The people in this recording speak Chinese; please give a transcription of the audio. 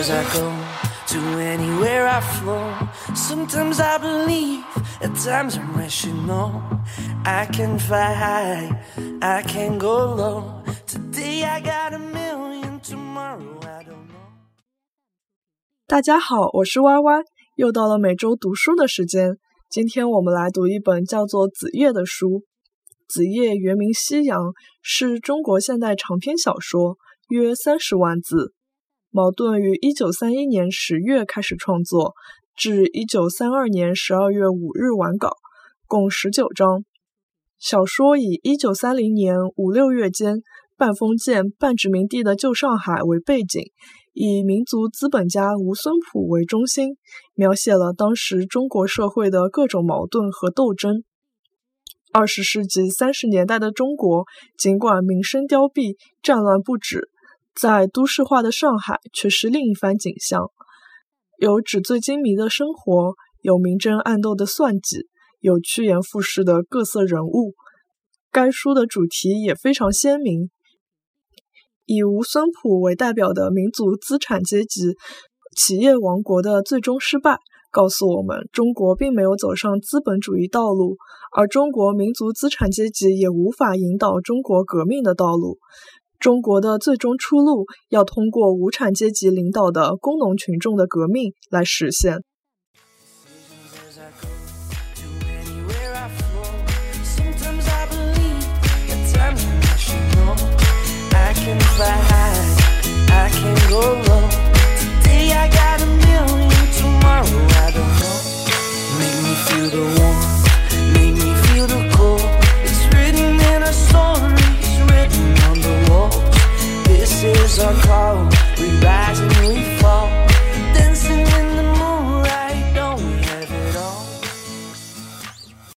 As I go to anywhere I flow, sometimes I believe, at times I'm rational. I can fly high, I can go low. Today I got a million, tomorrow I don't know. 大家好，我是歪歪，又到了每周读书的时间。今天我们来读一本叫做《子夜》的书。子夜原名夕阳，是中国现代长篇小说，约30万字。茅盾于1931年10月开始创作，至1932年12月5日完稿，共19章。小说以1930年5、6月间半封建半殖民地的旧上海为背景，以民族资本家吴孙甫为中心，描写了当时中国社会的各种矛盾和斗争。20世纪30年代的中国，尽管民生凋敝，战乱不止，在都市化的上海却是另一番景象，有纸醉金迷的生活，有明争暗斗的算计，有趋炎附势的各色人物。该书的主题也非常鲜明，以吴孙甫为代表的民族资产阶级企业王国的最终失败，告诉我们中国并没有走上资本主义道路，而中国民族资产阶级也无法引导中国革命的道路。中国的最终出路要通过无产阶级领导的工农群众的革命来实现。 This is our call, we rise and